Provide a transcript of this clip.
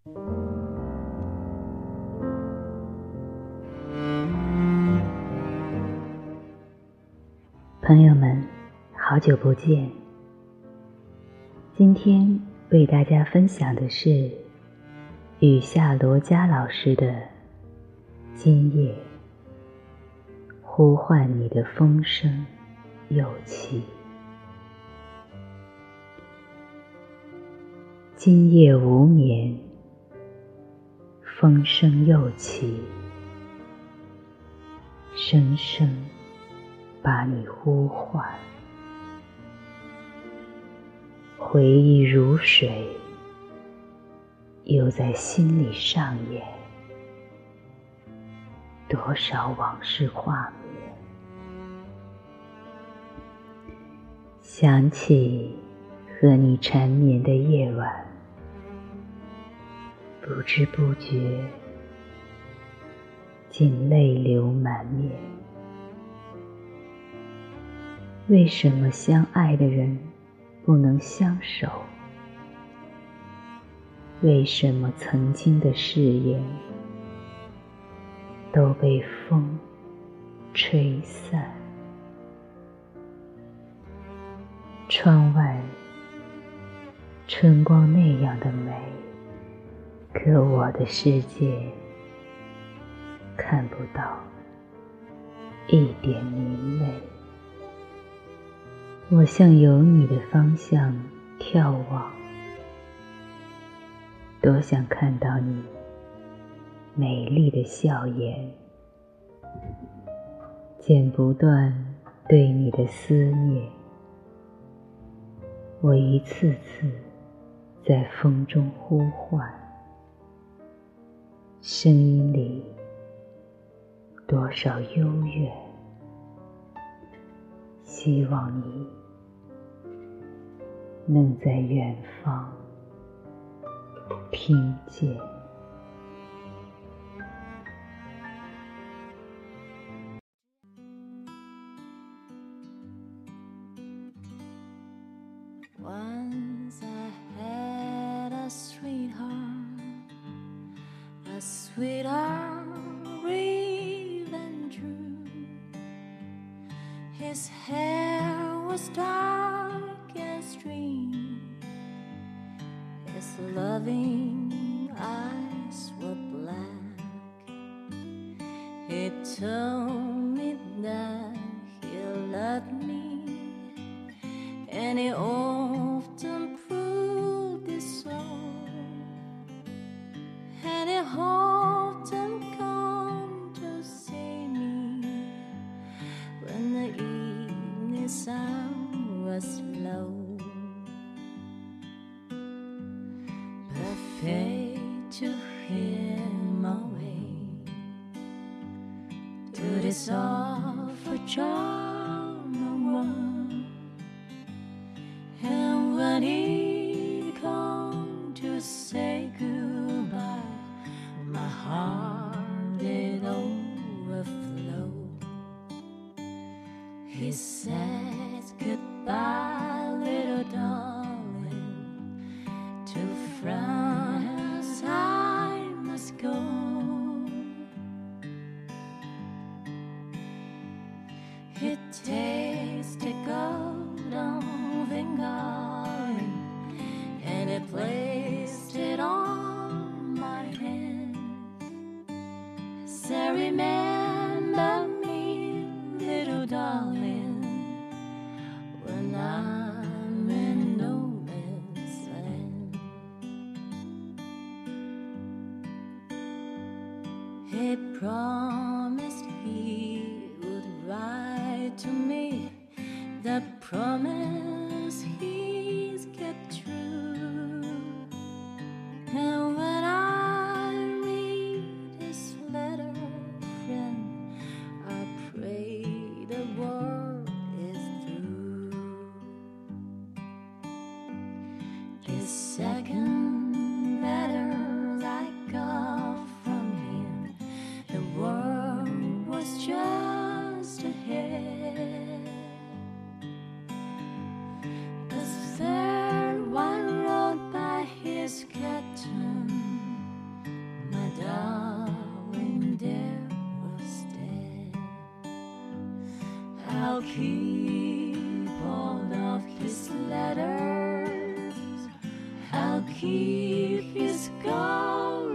朋友们，好久不见。今天为大家分享的是雨下罗家老师的《今夜呼唤你的风声又起》。今夜无眠，风声又起，声声把你呼唤。回忆如水，又在心里上演，多少往事画面。想起和你缠绵的夜晚，不知不觉竟泪流满面。为什么相爱的人不能相守？为什么曾经的誓言都被风吹散？窗外春光那样的美，可我的世界看不到一点明媚。我向有你的方向眺望，多想看到你美丽的笑颜，剪不断对你的思念。我一次次在风中呼唤，声音里多少幽怨，希望你能在远方听见。 Once I had a sweetheart real and true. His hair was dark and stream, his loving eyes were black. He told me that he loved me, and he often proved it so, and he often come to see me when the evening sun was low. But fate took him away to this awful charm no one. And when he come to say goodbye, my heart did overflow. He said goodbye, little darling, to France I must go. He tasted golden finger, and he placed it on my hand. Say, remember me, little darling, when I'm in no man's land. He promised he would write to me. The promise he's kept true. And when I read his letter, friend, I pray the war is through. The second letter I got from him, the world was just ahead. The third one wrote by his captain, keep all of his letters. I'll keep his gold